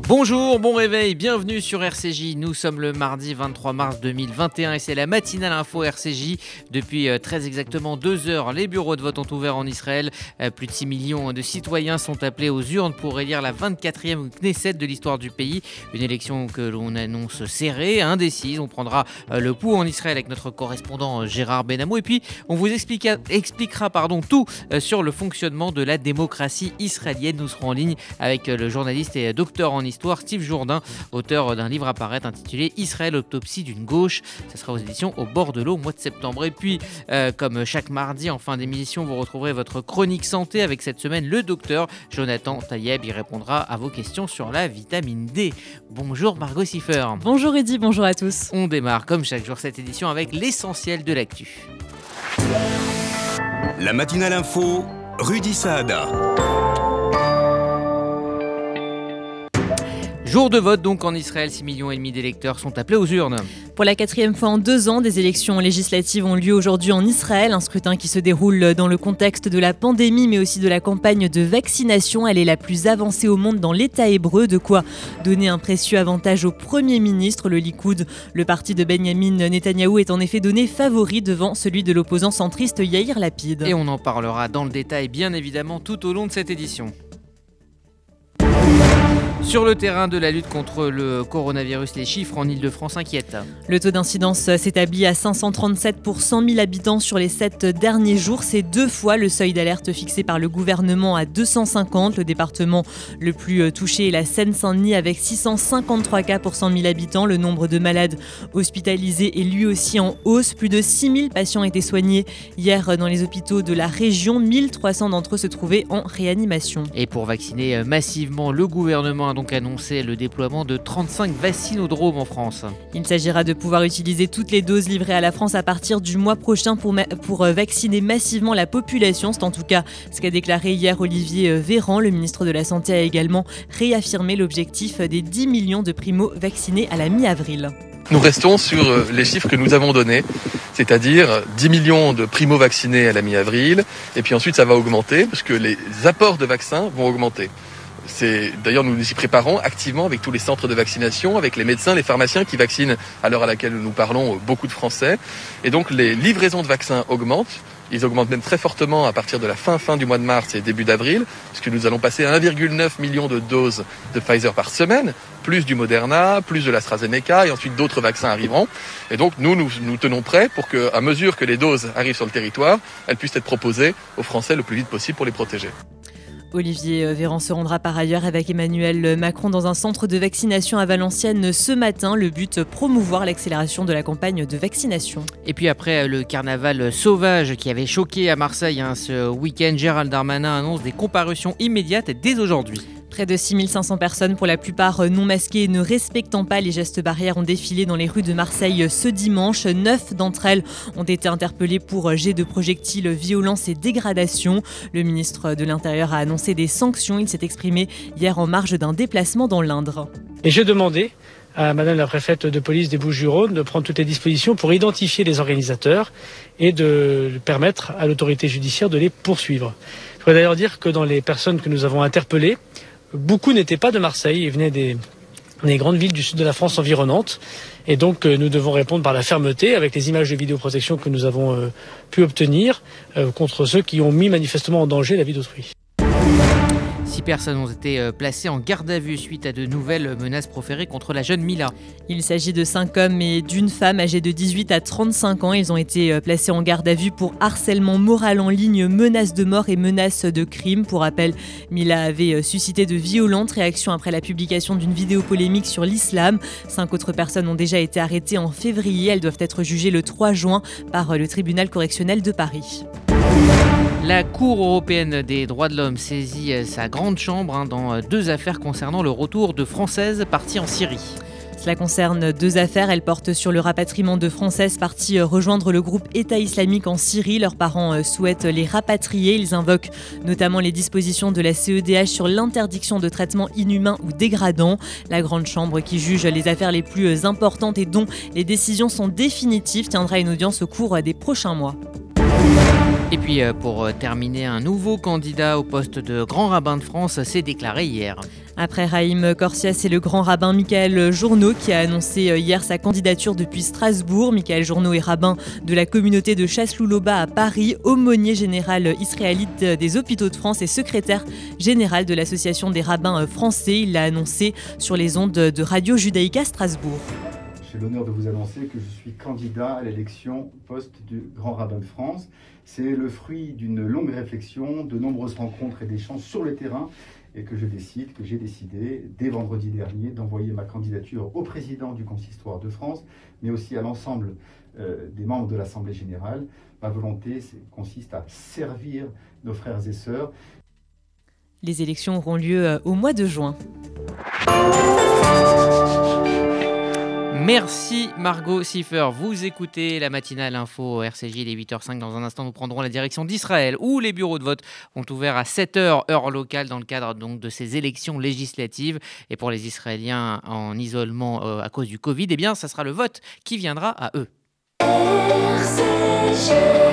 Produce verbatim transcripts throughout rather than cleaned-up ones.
Bonjour, bon réveil, bienvenue sur R C J. Nous sommes le mardi vingt-trois mars deux mille vingt et un et c'est la matinale info R C J. Depuis euh, très exactement deux heures, les bureaux de vote ont ouvert en Israël. Euh, plus de six millions de citoyens sont appelés aux urnes pour élire la vingt-quatrième Knesset de l'histoire du pays. Une élection que l'on annonce serrée, indécise. On prendra euh, le pouls en Israël avec notre correspondant euh, Gérard Benamou. Et puis, on vous expliquera, expliquera pardon, tout euh, sur le fonctionnement de la démocratie israélienne. Nous serons en ligne avec euh, le journaliste et euh, docteur en histoire Steve Jourdain, auteur d'un livre à paraître intitulé Israël, autopsie d'une gauche. Ça sera aux éditions Au bord de l'eau au mois de septembre. Et puis, euh, comme chaque mardi en fin d'émission, vous retrouverez votre chronique santé avec cette semaine le docteur Jonathan Tayeb. Il répondra à vos questions sur la vitamine D. Bonjour Margot Siffer. Bonjour Eddy, bonjour à tous. On démarre comme chaque jour cette édition avec l'essentiel de l'actu. La matinale info, Rudy Saada. Jour de vote donc en Israël, six millions et demi d'électeurs sont appelés aux urnes. Pour la quatrième fois en deux ans, des élections législatives ont lieu aujourd'hui en Israël. Un scrutin qui se déroule dans le contexte de la pandémie, mais aussi de la campagne de vaccination. Elle est la plus avancée au monde dans l'État hébreu, de quoi donner un précieux avantage au Premier ministre. Le Likoud, le parti de Benjamin Netanyahou, est en effet donné favori devant celui de l'opposant centriste Yair Lapid. Et on en parlera dans le détail, bien évidemment, tout au long de cette édition. Sur le terrain de la lutte contre le coronavirus, les chiffres en Ile-de-France inquiètent. Le taux d'incidence s'établit à cinq cent trente-sept pour cent mille habitants sur les sept derniers jours. C'est deux fois le seuil d'alerte fixé par le gouvernement à deux cent cinquante. Le département le plus touché est la Seine-Saint-Denis avec six cent cinquante-trois cas pour cent mille habitants. Le nombre de malades hospitalisés est lui aussi en hausse. Plus de six mille patients étaient soignés hier dans les hôpitaux de la région. mille trois cents d'entre eux se trouvaient en réanimation. Et pour vacciner massivement, le gouvernement a donc annoncé le déploiement de trente-cinq vaccinodromes en France. Il s'agira de pouvoir utiliser toutes les doses livrées à la France à partir du mois prochain pour, ma- pour vacciner massivement la population. C'est en tout cas ce qu'a déclaré hier Olivier Véran. Le ministre de la Santé a également réaffirmé l'objectif des dix millions de primo-vaccinés à la mi-avril. Nous restons sur les chiffres que nous avons donnés, c'est-à-dire dix millions de primo-vaccinés à la mi-avril, et puis ensuite ça va augmenter parce que les apports de vaccins vont augmenter. C'est, d'ailleurs, nous nous y préparons activement avec tous les centres de vaccination, avec les médecins, les pharmaciens qui vaccinent à l'heure à laquelle nous parlons beaucoup de Français. Et donc les livraisons de vaccins augmentent. Ils augmentent même très fortement à partir de la fin fin du mois de mars et début d'avril, puisque nous allons passer à un virgule neuf million de doses de Pfizer par semaine, plus du Moderna, plus de l'AstraZeneca, et ensuite d'autres vaccins arriveront. Et donc nous, nous, nous tenons prêts pour qu'à mesure que les doses arrivent sur le territoire, elles puissent être proposées aux Français le plus vite possible pour les protéger. Olivier Véran se rendra par ailleurs avec Emmanuel Macron dans un centre de vaccination à Valenciennes ce matin. Le but, promouvoir l'accélération de la campagne de vaccination. Et puis après le carnaval sauvage qui avait choqué à Marseille hein, ce week-end, Gérald Darmanin annonce des comparutions immédiates dès aujourd'hui. Près de six mille cinq cents personnes, pour la plupart non masquées et ne respectant pas les gestes barrières, ont défilé dans les rues de Marseille ce dimanche. Neuf d'entre elles ont été interpellées pour jet de projectiles, violence et dégradation. Le ministre de l'Intérieur a annoncé des sanctions. Il s'est exprimé hier en marge d'un déplacement dans l'Indre. Et j'ai demandé à madame la préfète de police des Bouches-du-Rhône de prendre toutes les dispositions pour identifier les organisateurs et de permettre à l'autorité judiciaire de les poursuivre. Je voudrais d'ailleurs dire que dans les personnes que nous avons interpellées, beaucoup n'étaient pas de Marseille, ils venaient des, des grandes villes du sud de la France environnantes. Et donc nous devons répondre par la fermeté avec les images de vidéoprotection que nous avons euh, pu obtenir euh, contre ceux qui ont mis manifestement en danger la vie d'autrui. Six personnes ont été placées en garde à vue suite à de nouvelles menaces proférées contre la jeune Mila. Il s'agit de cinq hommes et d'une femme âgés de dix-huit à trente-cinq ans. Ils ont été placés en garde à vue pour harcèlement moral en ligne, menaces de mort et menaces de crime. Pour rappel, Mila avait suscité de violentes réactions après la publication d'une vidéo polémique sur l'islam. Cinq autres personnes ont déjà été arrêtées en février. Elles doivent être jugées le trois juin par le tribunal correctionnel de Paris. La Cour européenne des droits de l'homme saisit sa grande chambre hein, dans deux affaires concernant le retour de Françaises parties en Syrie. Cela concerne deux affaires. Elles portent sur le rapatriement de Françaises parties rejoindre le groupe État islamique en Syrie. Leurs parents souhaitent les rapatrier. Ils invoquent notamment les dispositions de la C E D H sur l'interdiction de traitements inhumains ou dégradants. La grande chambre qui juge les affaires les plus importantes et dont les décisions sont définitives tiendra une audience au cours des prochains mois. Et puis pour terminer, un nouveau candidat au poste de grand rabbin de France s'est déclaré hier. Après Raïm Korsia, c'est le grand rabbin Michael Journeau qui a annoncé hier sa candidature depuis Strasbourg. Michael Journeau est rabbin de la communauté de Chasselouloba à Paris, aumônier général israélite des hôpitaux de France et secrétaire général de l'association des rabbins français. Il l'a annoncé sur les ondes de Radio Judaïka Strasbourg. J'ai l'honneur de vous annoncer que je suis candidat à l'élection poste du grand rabbin de France. C'est le fruit d'une longue réflexion, de nombreuses rencontres et d'échanges sur le terrain, et que je décide, que j'ai décidé dès vendredi dernier d'envoyer ma candidature au président du Consistoire de France, mais aussi à l'ensemble euh, des membres de l'Assemblée générale. Ma volonté consiste à servir nos frères et sœurs. Les élections auront lieu au mois de juin. Merci Margot Siffer. Vous écoutez la matinale info R C J, il est huit heures cinq. Dans un instant, nous prendrons la direction d'Israël où les bureaux de vote ont ouvert à sept heures, heure locale, dans le cadre donc de ces élections législatives. Et pour les Israéliens en isolement euh, à cause du Covid, eh bien, ça sera le vote qui viendra à eux. R C J.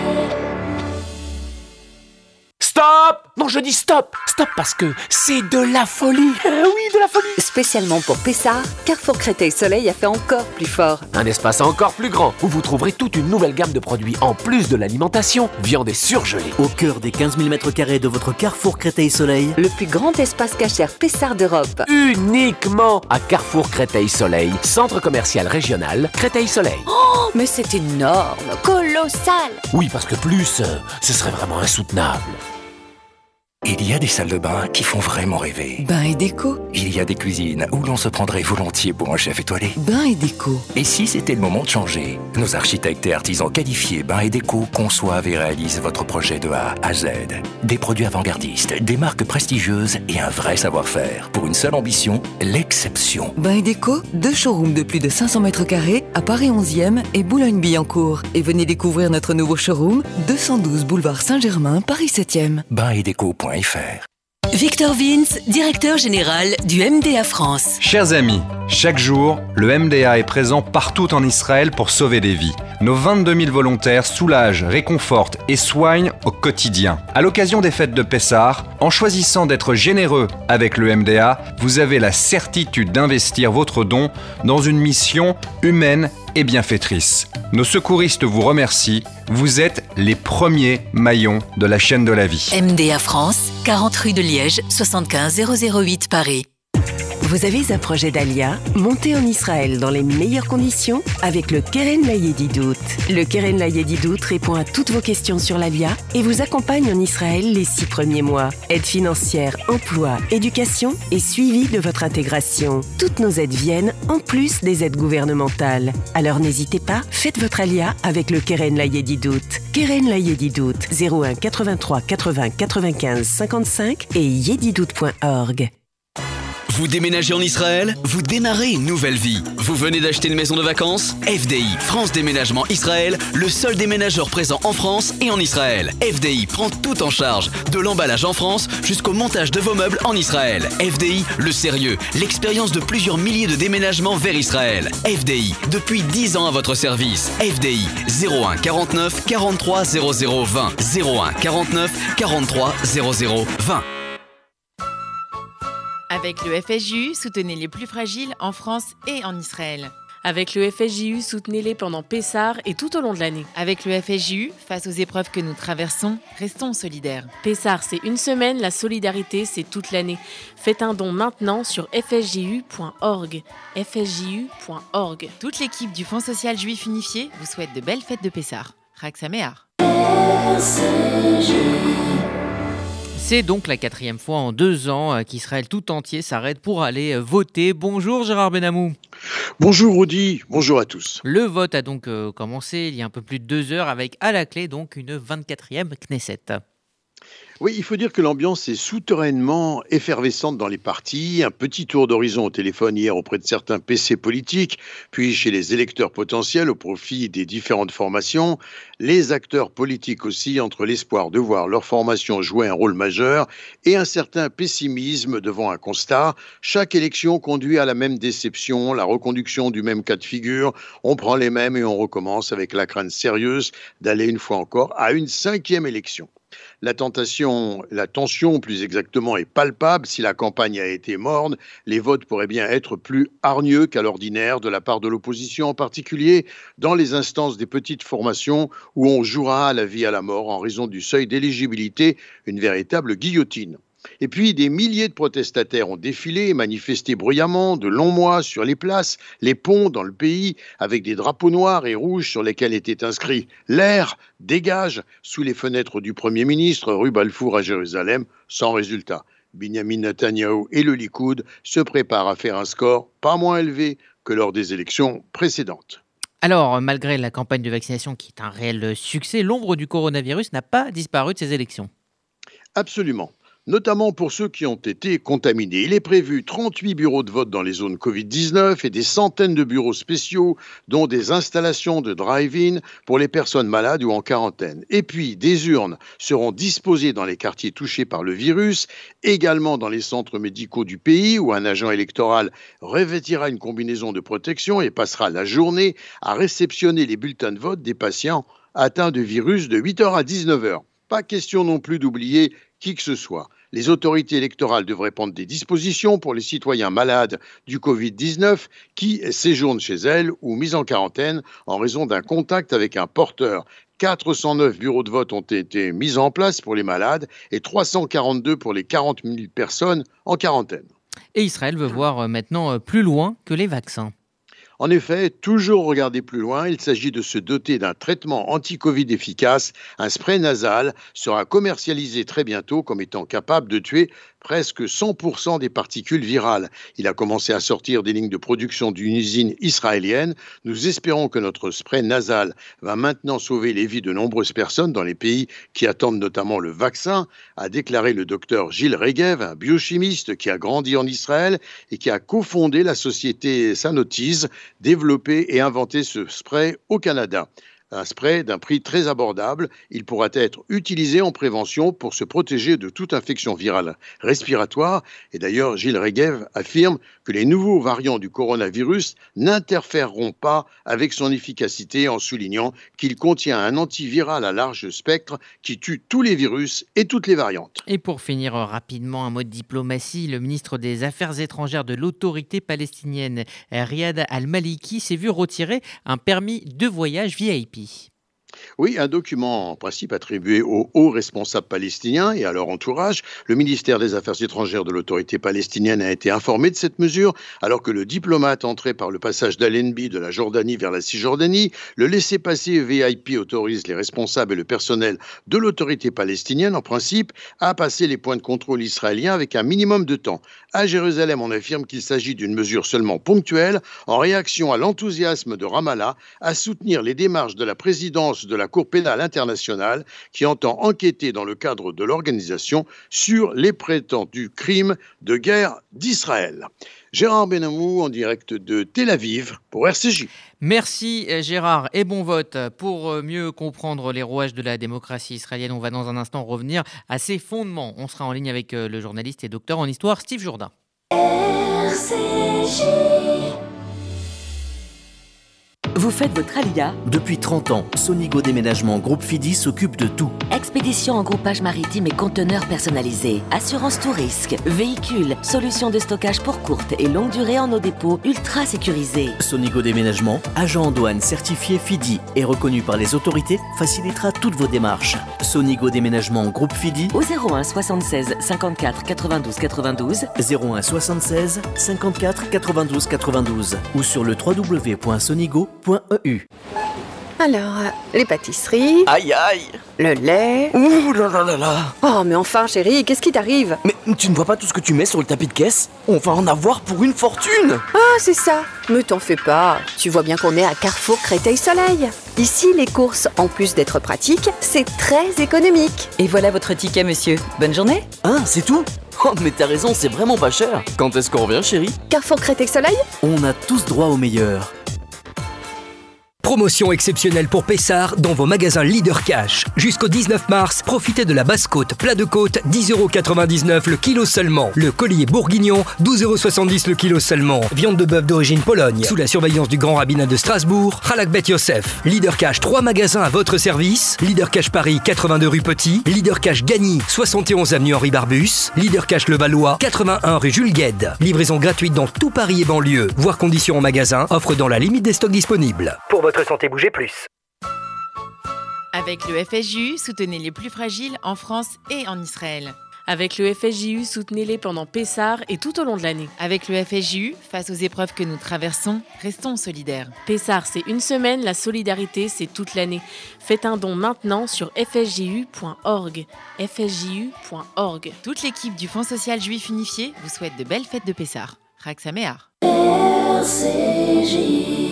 Stop! Non, je dis stop! Stop parce que c'est de la folie! Euh, oui, de la folie! Spécialement pour Pessard, Carrefour Créteil Soleil a fait encore plus fort. Un espace encore plus grand où vous trouverez toute une nouvelle gamme de produits en plus de l'alimentation, viande et surgelée. Au cœur des quinze mille mètres carrés de votre Carrefour Créteil Soleil, le plus grand espace cachère Pessard d'Europe. Uniquement à Carrefour Créteil Soleil, centre commercial régional Créteil Soleil. Oh, mais c'est énorme, colossal! Oui, parce que plus, euh, ce serait vraiment insoutenable. Il y a des salles de bain qui font vraiment rêver. Bain et déco. Il y a des cuisines où l'on se prendrait volontiers pour un chef étoilé. Bain et déco. Et si c'était le moment de changer? Nos architectes et artisans qualifiés Bain et déco conçoivent et réalisent votre projet de A à Z. Des produits avant-gardistes, des marques prestigieuses et un vrai savoir-faire. Pour une seule ambition, l'exception. Bain et déco, deux showrooms de plus de cinq cents mètres carrés à Paris onzième et Boulogne-Billancourt. Et venez découvrir notre nouveau showroom, deux cent douze boulevard Saint-Germain, Paris septième. bain et déco point f r. Victor Vince, directeur général du M D A France. Chers amis, chaque jour, le M D A est présent partout en Israël pour sauver des vies. Nos vingt-deux mille volontaires soulagent, réconfortent et soignent au quotidien. À l'occasion des fêtes de Pessah, en choisissant d'être généreux avec le M D A, vous avez la certitude d'investir votre don dans une mission humaine et bienfaitrice. Nos secouristes vous remercient. Vous êtes les premiers maillons de la chaîne de la vie. M D A France, quarante rue de Liège, soixante-quinze zéro zéro huit Paris. Vous avez un projet d'Alia? Montez en Israël dans les meilleures conditions avec le Keren Layedidout. Le Keren Layedidout répond à toutes vos questions sur l'Alia et vous accompagne en Israël les six premiers mois. Aide financière, emploi, éducation et suivi de votre intégration. Toutes nos aides viennent en plus des aides gouvernementales. Alors n'hésitez pas, faites votre Alia avec le Keren Layedidout. Keren Layedidout, zéro un quatre-vingt-trois quatre-vingts quatre-vingt-quinze cinquante-cinq et yedidout point org. Vous déménagez en Israël? Vous démarrez une nouvelle vie. Vous venez d'acheter une maison de vacances? F D I, France Déménagement Israël, le seul déménageur présent en France et en Israël. F D I prend tout en charge, de l'emballage en France jusqu'au montage de vos meubles en Israël. F D I, le sérieux, l'expérience de plusieurs milliers de déménagements vers Israël. F D I, depuis dix ans à votre service. F D I, zéro un quarante-neuf quarante-trois zéro zéro vingt. zéro un quarante-neuf quarante-trois zéro zéro vingt. Avec le F S J U, soutenez les plus fragiles en France et en Israël. Avec le F S J U, soutenez-les pendant Pessah et tout au long de l'année. Avec le F S J U, face aux épreuves que nous traversons, restons solidaires. Pessah, c'est une semaine, la solidarité, c'est toute l'année. Faites un don maintenant sur f s j u point org. f s j u point org. Toute l'équipe du Fonds social juif unifié vous souhaite de belles fêtes de Pessah. Chag Sameach. C'est donc la quatrième fois en deux ans qu'Israël tout entier s'arrête pour aller voter. Bonjour Gérard Benamou. Bonjour Rudy, bonjour à tous. Le vote a donc commencé il y a un peu plus de deux heures avec à la clé donc une vingt-quatrième Knesset. Oui, il faut dire que l'ambiance est souterrainement effervescente dans les partis. Un petit tour d'horizon au téléphone hier auprès de certains P C politiques, puis chez les électeurs potentiels au profit des différentes formations. Les acteurs politiques aussi, entre l'espoir de voir leur formation jouer un rôle majeur et un certain pessimisme devant un constat. Chaque élection conduit à la même déception, la reconduction du même cas de figure. On prend les mêmes et on recommence avec la crainte sérieuse d'aller une fois encore à une cinquième élection. La tentation, la tension plus exactement est palpable. Si la campagne a été morne, les votes pourraient bien être plus hargneux qu'à l'ordinaire de la part de l'opposition, en particulier dans les instances des petites formations où on jouera à la vie à la mort en raison du seuil d'éligibilité, une véritable guillotine. Et puis, des milliers de protestataires ont défilé et manifesté bruyamment de longs mois sur les places, les ponts dans le pays, avec des drapeaux noirs et rouges sur lesquels était inscrit « L'air dégage » sous les fenêtres du Premier ministre, rue Balfour à Jérusalem, sans résultat. Binyamin Netanyahou et le Likoud se préparent à faire un score pas moins élevé que lors des élections précédentes. Alors, malgré la campagne de vaccination qui est un réel succès, l'ombre du coronavirus n'a pas disparu de ces élections. Absolument. Notamment pour ceux qui ont été contaminés. Il est prévu trente-huit bureaux de vote dans les zones covid dix-neuf et des centaines de bureaux spéciaux, dont des installations de drive-in pour les personnes malades ou en quarantaine. Et puis, des urnes seront disposées dans les quartiers touchés par le virus, également dans les centres médicaux du pays, où un agent électoral revêtira une combinaison de protection et passera la journée à réceptionner les bulletins de vote des patients atteints de virus de huit heures à dix-neuf heures. Pas question non plus d'oublier qui que ce soit. Les autorités électorales devraient prendre des dispositions pour les citoyens malades du covid dix-neuf qui séjournent chez elles ou mis en quarantaine en raison d'un contact avec un porteur. quatre cent neuf bureaux de vote ont été mis en place pour les malades et trois cent quarante-deux pour les quarante mille personnes en quarantaine. Et Israël veut voir maintenant plus loin que les vaccins. En effet, toujours regarder plus loin, il s'agit de se doter d'un traitement anti-Covid efficace. Un spray nasal sera commercialisé très bientôt comme étant capable de tuer presque cent pour cent des particules virales. Il a commencé à sortir des lignes de production d'une usine israélienne. Nous espérons que notre spray nasal va maintenant sauver les vies de nombreuses personnes dans les pays qui attendent notamment le vaccin, a déclaré le docteur Gilles Regev, un biochimiste qui a grandi en Israël et qui a cofondé la société Sanotis, développé et inventé ce spray au Canada. Un spray d'un prix très abordable, il pourra être utilisé en prévention pour se protéger de toute infection virale respiratoire. Et d'ailleurs, Gilles Regev affirme que les nouveaux variants du coronavirus n'interféreront pas avec son efficacité en soulignant qu'il contient un antiviral à large spectre qui tue tous les virus et toutes les variantes. Et pour finir rapidement, un mot de diplomatie, le ministre des Affaires étrangères de l'autorité palestinienne, Riyad Al-Maliki, s'est vu retirer un permis de voyage V I P. Oui, un document en principe attribué aux hauts responsables palestiniens et à leur entourage. Le ministère des Affaires étrangères de l'autorité palestinienne a été informé de cette mesure, alors que le diplomate entré par le passage d'Allenby de la Jordanie vers la Cisjordanie, le laissez-passer V I P autorise les responsables et le personnel de l'autorité palestinienne, en principe, à passer les points de contrôle israéliens avec un minimum de temps. À Jérusalem, on affirme qu'il s'agit d'une mesure seulement ponctuelle, en réaction à l'enthousiasme de Ramallah à soutenir les démarches de la présidence de la Cour pénale internationale qui entend enquêter dans le cadre de l'organisation sur les prétendus crimes de guerre d'Israël. Gérard Benamou en direct de Tel Aviv pour R C J. Merci Gérard et bon vote. Pour mieux comprendre les rouages de la démocratie israélienne, on va dans un instant revenir à ses fondements. On sera en ligne avec le journaliste et docteur en histoire Steve Jourdain. R C J. Vous faites votre alia ? Depuis trente ans, Sonigo Déménagement Groupe Fidi s'occupe de tout. Expédition en groupage maritime et conteneurs personnalisés, assurance tout risque, véhicules, solutions de stockage pour courte et longue durée en nos dépôts ultra sécurisés. Sonigo Déménagement, agent en douane certifié Fidi et reconnu par les autorités, facilitera toutes vos démarches. Sonigo Déménagement Groupe Fidi au zéro un soixante-seize cinquante-quatre quatre-vingt-douze quatre-vingt-douze, zéro un soixante-seize cinquante-quatre quatre-vingt-douze quatre-vingt-douze ou sur le w w w point sonigo point e u. Alors, euh, les pâtisseries... Aïe aïe. Le lait... Ouh là là là là. Oh, mais enfin, chérie, qu'est-ce qui t'arrive? Mais tu ne vois pas tout ce que tu mets sur le tapis de caisse? On va en avoir pour une fortune. Ah, c'est ça. Mais t'en fais pas. Tu vois bien qu'on est à Carrefour Créteil-Soleil. Ici, les courses, en plus d'être pratiques, c'est très économique. Et voilà votre ticket, monsieur. Bonne journée. Ah, c'est tout? Oh, mais t'as raison, c'est vraiment pas cher. Quand est-ce qu'on revient, chérie? Carrefour Créteil-Soleil? On a tous droit au meilleur. Promotion exceptionnelle pour Pessard dans vos magasins Leader Cash. Jusqu'au dix-neuf mars, profitez de la basse-côte, plat de côte, dix euros quatre-vingt-dix-neuf le kilo seulement. Le collier bourguignon, douze euros soixante-dix le kilo seulement. Viande de bœuf d'origine Pologne, sous la surveillance du Grand Rabbinat de Strasbourg, Halak Bet Yosef. Leader Cash, trois magasins à votre service. Leader Cash Paris, quatre-vingt-deux rue Petit. Leader Cash Gagny, soixante et onze avenue Henri Barbus. Leader Cash Levallois, quatre-vingt-un rue Jules Guesde. Livraison gratuite dans tout Paris et banlieue. Voir conditions en magasin, offre dans la limite des stocks disponibles. Pour votre santé, bougez plus. Avec le F S J U, soutenez les plus fragiles en France et en Israël. Avec le F S J U, soutenez-les pendant Pessah et tout au long de l'année. Avec le F S J U, face aux épreuves que nous traversons, restons solidaires. Pessah, c'est une semaine, la solidarité, c'est toute l'année. Faites un don maintenant sur f s j u point org. f s j u point org. Toute l'équipe du Fonds social juif unifié vous souhaite de belles fêtes de Pessah. Chag Sameach. R C J.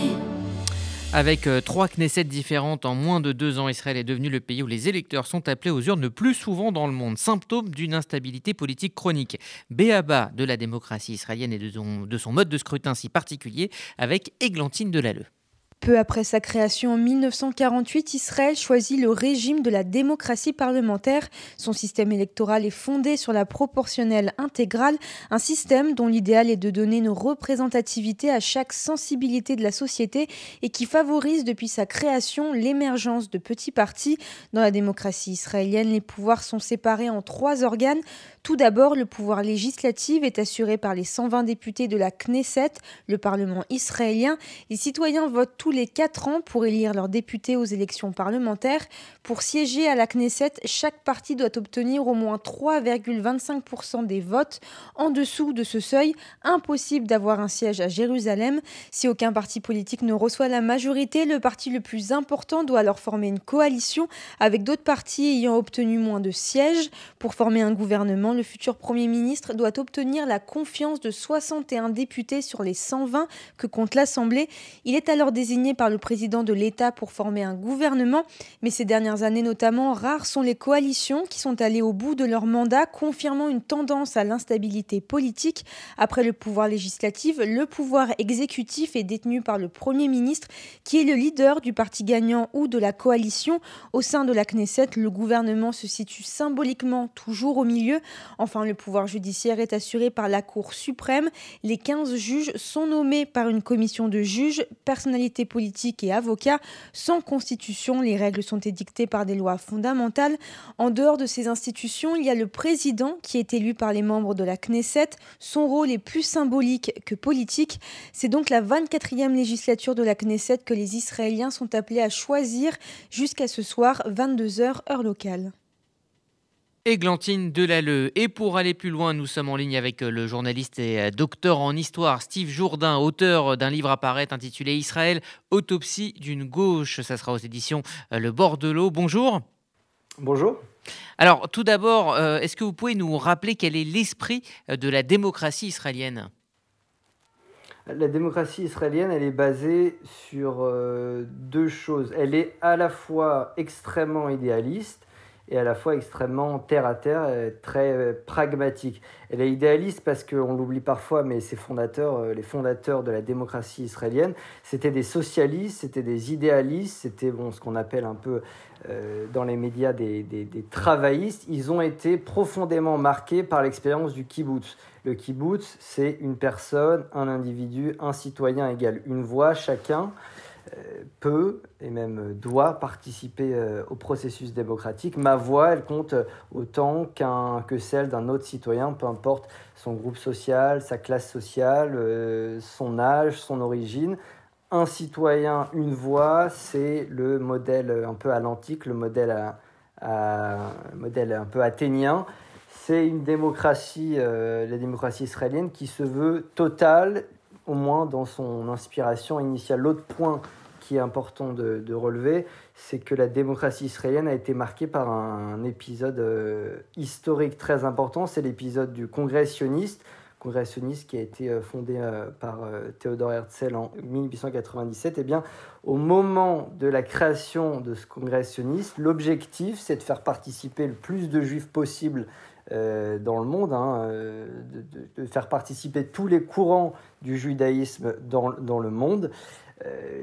Avec euh, trois Knesset différentes en moins de deux ans, Israël est devenu le pays où les électeurs sont appelés aux urnes le plus souvent dans le monde, symptôme d'une instabilité politique chronique. Béaba de la démocratie israélienne et de son, de son mode de scrutin si particulier, avec Églantine Delalleux. Peu après sa création en mille neuf cent quarante-huit, Israël choisit le régime de la démocratie parlementaire. Son système électoral est fondé sur la proportionnelle intégrale, un système dont l'idéal est de donner une représentativité à chaque sensibilité de la société et qui favorise depuis sa création l'émergence de petits partis. Dans la démocratie israélienne, les pouvoirs sont séparés en trois organes. Tout d'abord, le pouvoir législatif est assuré par les cent vingt députés de la Knesset, le Parlement israélien. Les citoyens votent tous les quatre ans pour élire leurs députés aux élections parlementaires. Pour siéger à la Knesset, chaque parti doit obtenir au moins trois virgule vingt-cinq pour cent des votes. En dessous de ce seuil, impossible d'avoir un siège à Jérusalem. Si aucun parti politique ne reçoit la majorité, le parti le plus important doit alors former une coalition avec d'autres partis ayant obtenu moins de sièges. Pour former un gouvernement, le futur Premier ministre doit obtenir la confiance de soixante et un députés sur les cent vingt que compte l'Assemblée. Il est alors désigné par le président de l'État pour former un gouvernement. Mais ces dernières années notamment, rares sont les coalitions qui sont allées au bout de leur mandat, confirmant une tendance à l'instabilité politique. Après le pouvoir législatif, le pouvoir exécutif est détenu par le Premier ministre, qui est le leader du parti gagnant ou de la coalition. Au sein de la Knesset, le gouvernement se situe symboliquement toujours au milieu. Enfin, le pouvoir judiciaire est assuré par la Cour suprême. Les quinze juges sont nommés par une commission de juges, personnalités politiques et avocats. Sans constitution, les règles sont édictées par des lois fondamentales. En dehors de ces institutions, il y a le président qui est élu par les membres de la Knesset. Son rôle est plus symbolique que politique. C'est donc la vingt-quatrième législature de la Knesset que les Israéliens sont appelés à choisir jusqu'à ce soir, vingt-deux heures heure locale. Églantine Delalleux. Et pour aller plus loin, nous sommes en ligne avec le journaliste et docteur en histoire Steve Jourdain, auteur d'un livre à paraître intitulé Israël, autopsie d'une gauche. Ça sera aux éditions Le Bord de l'eau. Bonjour. Bonjour. Alors, tout d'abord, est-ce que vous pouvez nous rappeler quel est l'esprit de la démocratie israélienne ? La démocratie israélienne, elle est basée sur euh, deux choses. Elle est à la fois extrêmement idéaliste et à la fois extrêmement terre-à-terre, très pragmatique. Elle est idéaliste parce qu'on l'oublie parfois, mais ses fondateurs, les fondateurs de la démocratie israélienne, c'était des socialistes, c'était des idéalistes, c'était bon, ce qu'on appelle un peu euh, dans les médias des, des, des travaillistes. Ils ont été profondément marqués par l'expérience du kibbutz. Le kibbutz, c'est une personne, un individu, un citoyen égal une voix, chacun peut et même doit participer au processus démocratique. Ma voix, elle compte autant qu'un, que celle d'un autre citoyen, peu importe son groupe social, sa classe sociale, euh, son âge, son origine. Un citoyen, une voix, c'est le modèle un peu à l'antique, le modèle, à, à, modèle un peu athénien. C'est une démocratie, euh, la démocratie israélienne, qui se veut totale, au moins dans son inspiration initiale. L'autre point qui est important de, de relever, c'est que la démocratie israélienne a été marquée par un, un épisode euh, historique très important, c'est l'épisode du Congrès sioniste, Congrès sioniste qui a été euh, fondé euh, par euh, Théodore Herzl en mille huit cent quatre-vingt-dix-sept. Et bien, au moment de la création de ce Congrès sioniste, l'objectif, c'est de faire participer le plus de juifs possible Euh, dans le monde, hein, euh, de, de, de faire participer tous les courants du judaïsme dans, dans le monde. Euh,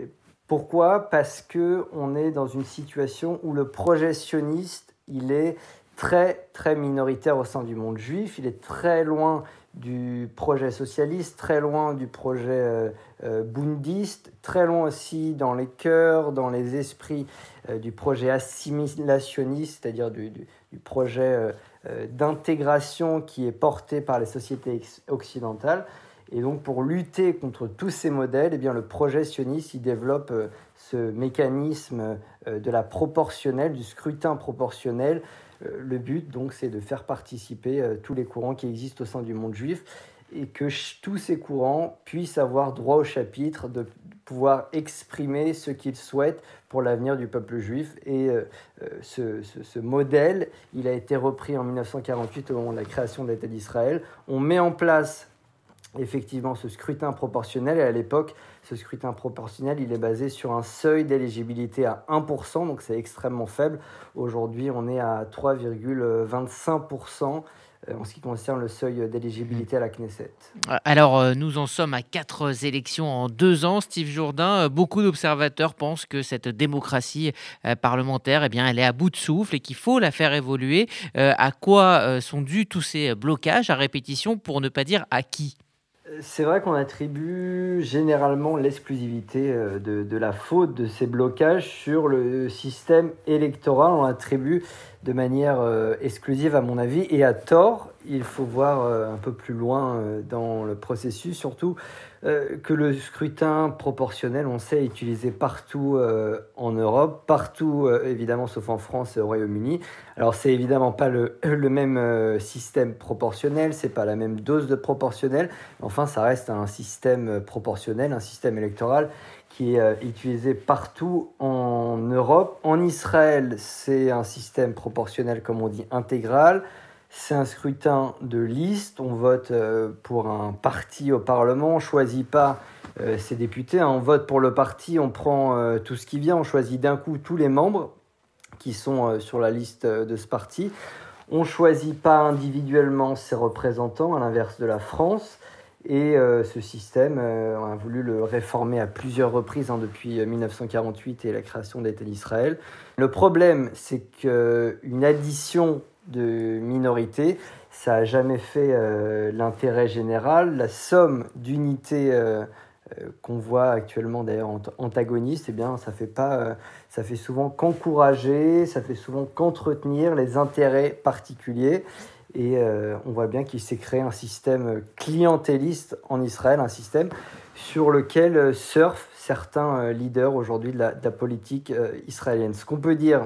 Pourquoi ? Parce qu'on est dans une situation où le projet sioniste, il est très, très minoritaire au sein du monde juif. Il est très loin du projet socialiste, très loin du projet euh, euh, bundiste, très loin aussi dans les cœurs, dans les esprits euh, du projet assimilationniste, c'est-à-dire du, du, du projet euh, euh, d'intégration qui est porté par les sociétés occidentales. Et donc, pour lutter contre tous ces modèles, eh bien, le projet sioniste il développe euh, ce mécanisme euh, de la proportionnelle, du scrutin proportionnel. Euh, le but, donc, c'est de faire participer euh, tous les courants qui existent au sein du monde juif et que ch- tous ces courants puissent avoir droit au chapitre, de pouvoir exprimer ce qu'ils souhaitent pour l'avenir du peuple juif. Et euh, ce, ce, ce modèle, il a été repris en dix-neuf cent quarante-huit au moment de la création de l'État d'Israël. On met en place effectivement ce scrutin proportionnel, et à l'époque, ce scrutin proportionnel, il est basé sur un seuil d'éligibilité à un pour cent, donc c'est extrêmement faible. Aujourd'hui, on est à trois virgule vingt-cinq pour cent en ce qui concerne le seuil d'éligibilité à la Knesset. Alors, nous en sommes à quatre élections en deux ans. Steve Jourdain, beaucoup d'observateurs pensent que cette démocratie parlementaire, eh bien, elle est à bout de souffle et qu'il faut la faire évoluer. À quoi sont dus tous ces blocages à répétition, pour ne pas dire à qui ? C'est vrai qu'on attribue généralement l'exclusivité de, de la faute de ces blocages sur le système électoral. On l'attribue de manière euh, exclusive à mon avis et à tort. Il faut voir euh, un peu plus loin euh, dans le processus, surtout euh, que le scrutin proportionnel, on sait, est utilisé partout euh, en Europe, partout euh, évidemment sauf en France et au Royaume-Uni. Alors c'est évidemment pas le, le même euh, système proportionnel, c'est pas la même dose de proportionnel, mais enfin ça reste un système proportionnel, un système électoral qui est euh, utilisé partout en Europe. En Israël, c'est un système proportionnel, comme on dit, intégral. C'est un scrutin de liste. On vote euh, pour un parti au Parlement. On ne choisit pas euh, ses députés. Hein. On vote pour le parti, on prend euh, tout ce qui vient. On choisit d'un coup tous les membres qui sont euh, sur la liste euh, de ce parti. On ne choisit pas individuellement ses représentants, à l'inverse de la France. Et euh, ce système, euh, on a voulu le réformer à plusieurs reprises hein, depuis dix-neuf cent quarante-huit et la création de l'État d'Israël. Le problème, c'est qu'une addition de minorités, ça n'a jamais fait euh, l'intérêt général. La somme d'unités euh, euh, qu'on voit actuellement d'ailleurs antagonistes, eh bien, ça fait pas, euh, ça fait souvent qu'encourager, ça fait souvent qu'entretenir les intérêts particuliers. Et euh, on voit bien qu'il s'est créé un système clientéliste en Israël, un système sur lequel surfent certains euh, leaders aujourd'hui de la, de la politique euh, israélienne. Ce qu'on peut dire,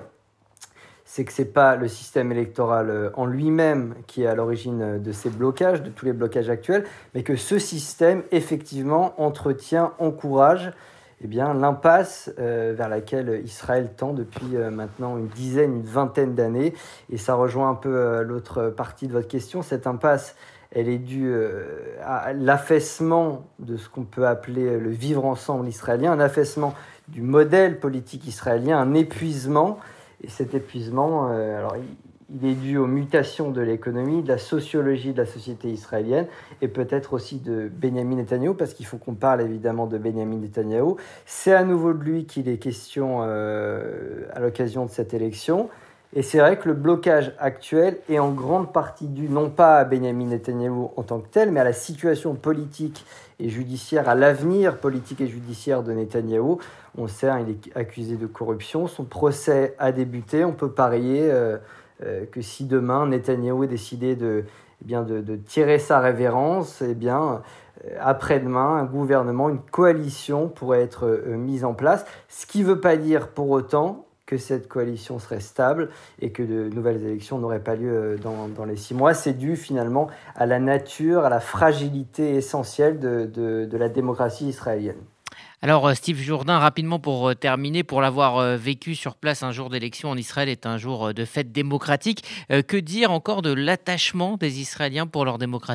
c'est que ce n'est pas le système électoral euh, en lui-même qui est à l'origine de ces blocages, de tous les blocages actuels, mais que ce système, effectivement, entretient, encourage eh bien, l'impasse euh, vers laquelle Israël tend depuis euh, maintenant une dizaine, une vingtaine d'années. Et ça rejoint un peu euh, l'autre partie de votre question. Cette impasse, elle est due euh, à l'affaissement de ce qu'on peut appeler le vivre ensemble israélien, un affaissement du modèle politique israélien, un épuisement. Et cet épuisement, euh, alors, il, il est dû aux mutations de l'économie, de la sociologie de la société israélienne et peut-être aussi de Benyamin Netanyahou, parce qu'il faut qu'on parle évidemment de Benyamin Netanyahou. C'est à nouveau de lui qu'il est question euh, à l'occasion de cette élection. Et c'est vrai que le blocage actuel est en grande partie dû non pas à Benyamin Netanyahou en tant que tel, mais à la situation politique et judiciaire, à l'avenir politique et judiciaire de Netanyahou. On sait, hein, il est accusé de corruption. Son procès a débuté. On peut parier euh, euh, que si demain Netanyahou est décidé de, eh bien, de, de tirer sa révérence, eh bien, euh, après-demain, un gouvernement, une coalition pourrait être euh, mise en place. Ce qui ne veut pas dire pour autant que cette coalition serait stable et que de nouvelles élections n'auraient pas lieu dans, dans les six mois. C'est dû finalement à la nature, à la fragilité essentielle de, de, de la démocratie israélienne. Alors Steve Jourdain, rapidement pour terminer, pour l'avoir vécu sur place, un jour d'élection en Israël est un jour de fête démocratique. Que dire encore de l'attachement des Israéliens pour leur démocratie ?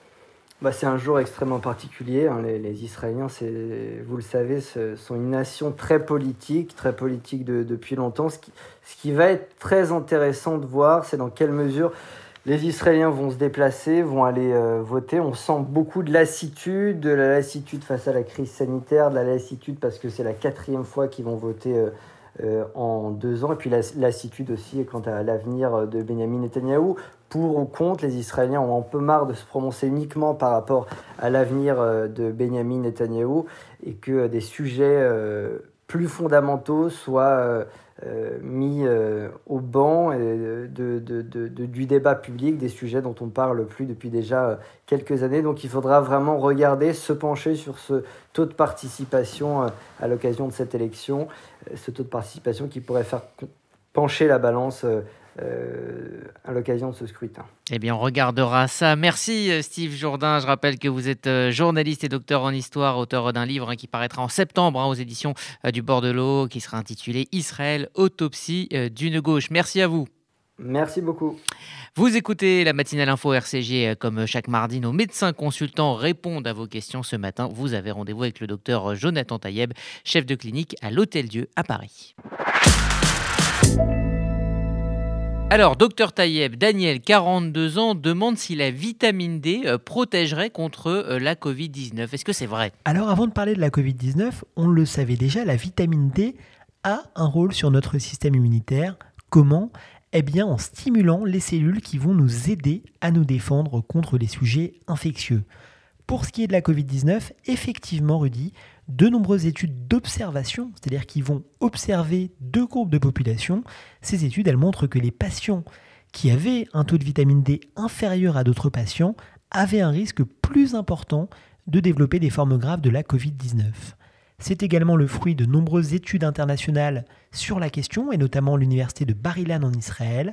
Bah, c'est un jour extrêmement particulier. Hein. Les, les Israéliens, c'est, vous le savez, ce, sont une nation très politique, très politique de, depuis longtemps. Ce qui, ce qui va être très intéressant de voir, c'est dans quelle mesure Les Israéliens vont se déplacer, vont aller euh, voter. On sent beaucoup de lassitude, de la lassitude face à la crise sanitaire, de la lassitude parce que c'est la quatrième fois qu'ils vont voter euh, euh, en deux ans. Et puis la lassitude aussi quant à l'avenir de Benyamin Netanyahou. Pour ou contre, les Israéliens ont un peu marre de se prononcer uniquement par rapport à l'avenir euh, de Benyamin Netanyahou et que euh, des sujets euh, plus fondamentaux soient euh, euh, mis euh, au banc de, de, de, de, du débat public, des sujets dont on parle plus depuis déjà euh, quelques années. Donc il faudra vraiment regarder, se pencher sur ce taux de participation euh, à l'occasion de cette élection, euh, ce taux de participation qui pourrait faire pencher la balance euh, Euh, à l'occasion de ce scrutin. Eh bien, on regardera ça. Merci Steve Jourdain. Je rappelle que vous êtes journaliste et docteur en histoire, auteur d'un livre hein, qui paraîtra en septembre hein, aux éditions euh, du Bord de l'Eau, qui sera intitulé « Israël, autopsie euh, d'une gauche ». Merci à vous. Merci beaucoup. Vous écoutez la matinale info R C G. Comme chaque mardi, nos médecins consultants répondent à vos questions. Ce matin, vous avez rendez-vous avec le docteur Jonathan Taïeb, chef de clinique à l'Hôtel-Dieu à Paris. Alors, docteur Taïeb, Daniel, quarante-deux ans, demande si la vitamine D euh, protégerait contre euh, la covid dix-neuf. Est-ce que c'est vrai ? Alors, avant de parler de la covid dix-neuf, on le savait déjà, la vitamine D a un rôle sur notre système immunitaire. Comment ? Eh bien, en stimulant les cellules qui vont nous aider à nous défendre contre les sujets infectieux. Pour ce qui est de la covid dix-neuf, effectivement, Rudy, de nombreuses études d'observation, c'est-à-dire qui vont observer deux groupes de population, ces études, elles montrent que les patients qui avaient un taux de vitamine D inférieur à d'autres patients avaient un risque plus important de développer des formes graves de la covid dix-neuf. C'est également le fruit de nombreuses études internationales sur la question, et notamment l'université de Bar-Ilan en Israël.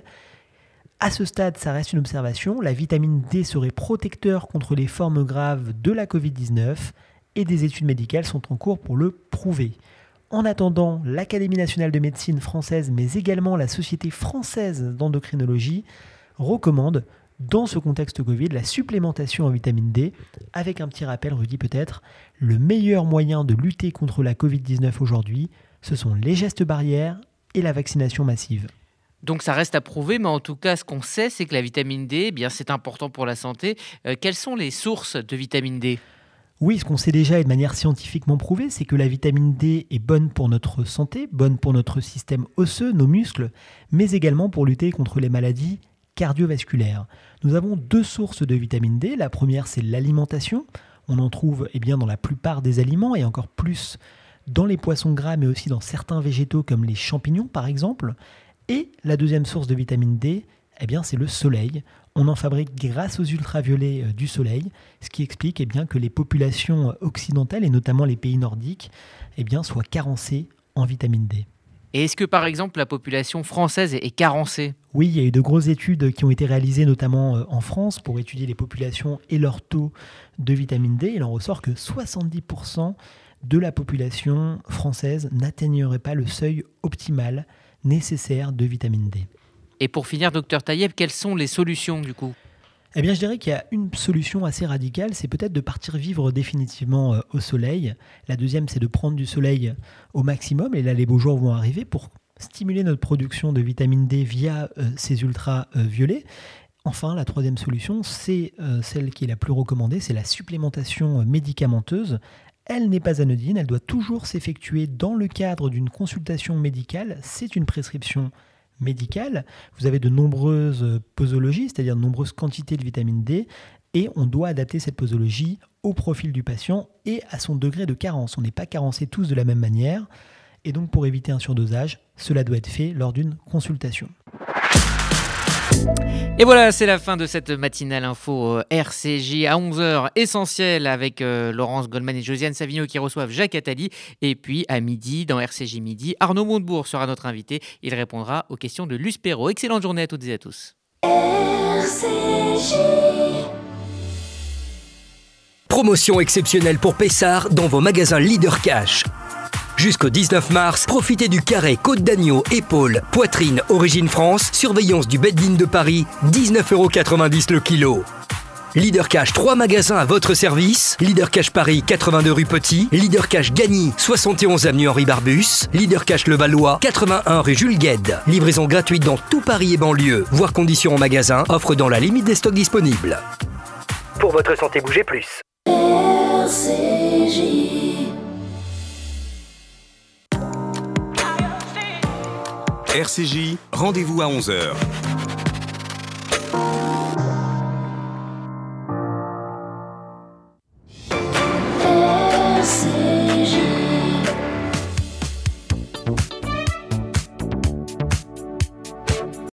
À ce stade, ça reste une observation, la vitamine D serait protecteur contre les formes graves de la covid dix-neuf, et des études médicales sont en cours pour le prouver. En attendant, l'Académie nationale de médecine française, mais également la Société française d'endocrinologie, recommandent, dans ce contexte Covid, la supplémentation en vitamine D, avec un petit rappel, Rudy peut-être, le meilleur moyen de lutter contre la covid dix-neuf aujourd'hui, ce sont les gestes barrières et la vaccination massive. Donc ça reste à prouver, mais en tout cas, ce qu'on sait, c'est que la vitamine D, eh bien, c'est important pour la santé. Euh, quelles sont les sources de vitamine D ? Oui, ce qu'on sait déjà et de manière scientifiquement prouvée, c'est que la vitamine D est bonne pour notre santé, bonne pour notre système osseux, nos muscles, mais également pour lutter contre les maladies cardiovasculaires. Nous avons deux sources de vitamine D. La première, c'est l'alimentation. On en trouve eh bien, dans la plupart des aliments et encore plus dans les poissons gras, mais aussi dans certains végétaux comme les champignons par exemple. Et la deuxième source de vitamine D, eh bien, c'est le soleil. On en fabrique grâce aux ultraviolets du soleil, ce qui explique eh bien, que les populations occidentales, et notamment les pays nordiques, eh bien, soient carencées en vitamine D. Et est-ce que par exemple la population française est carencée ? Oui, il y a eu de grosses études qui ont été réalisées notamment en France pour étudier les populations et leur taux de vitamine D. Il en ressort que soixante-dix pour cent de la population française n'atteignerait pas le seuil optimal nécessaire de vitamine D. Et pour finir, docteur Taïeb, quelles sont les solutions du coup ? Eh bien, je dirais qu'il y a une solution assez radicale, c'est peut-être de partir vivre définitivement au soleil. La deuxième, c'est de prendre du soleil au maximum. Et là, les beaux jours vont arriver pour stimuler notre production de vitamine D via euh, ces ultraviolets. Enfin, la troisième solution, c'est euh, celle qui est la plus recommandée, c'est la supplémentation médicamenteuse. Elle n'est pas anodine, elle doit toujours s'effectuer dans le cadre d'une consultation médicale. C'est une prescription médicale. Vous avez de nombreuses posologies, c'est-à-dire de nombreuses quantités de vitamine D, et on doit adapter cette posologie au profil du patient et à son degré de carence. On n'est pas carencés tous de la même manière, et donc pour éviter un surdosage, cela doit être fait lors d'une consultation. Et voilà, c'est la fin de cette matinale info R C J à onze heures, essentiel avec euh, Laurence Goldman et Josiane Savigno qui reçoivent Jacques Attali. Et puis à midi, dans R C J Midi, Arnaud Montebourg sera notre invité. Il répondra aux questions de Luce Perrault. Excellente journée à toutes et à tous. R C J. Promotion exceptionnelle pour Pessard dans vos magasins Leader Cash. Jusqu'au dix-neuf mars, profitez du carré côte d'agneau, épaule, poitrine, origine France, surveillance du Bed-In de Paris, dix-neuf euros quatre-vingt-dix le kilo. Leader Cash, trois magasins à votre service. Leader Cash Paris, quatre-vingt-deux rue Petit. Leader Cash Gagny, soixante et onze avenue Henri Barbus. Leader Cash Le Valois, quatre-vingt-un rue Jules Guesde. Livraison gratuite dans tout Paris et banlieue. Voir conditions en magasin. Offre dans la limite des stocks disponibles. Pour votre santé, bougez plus. R C J. R C J, rendez-vous à onze heures.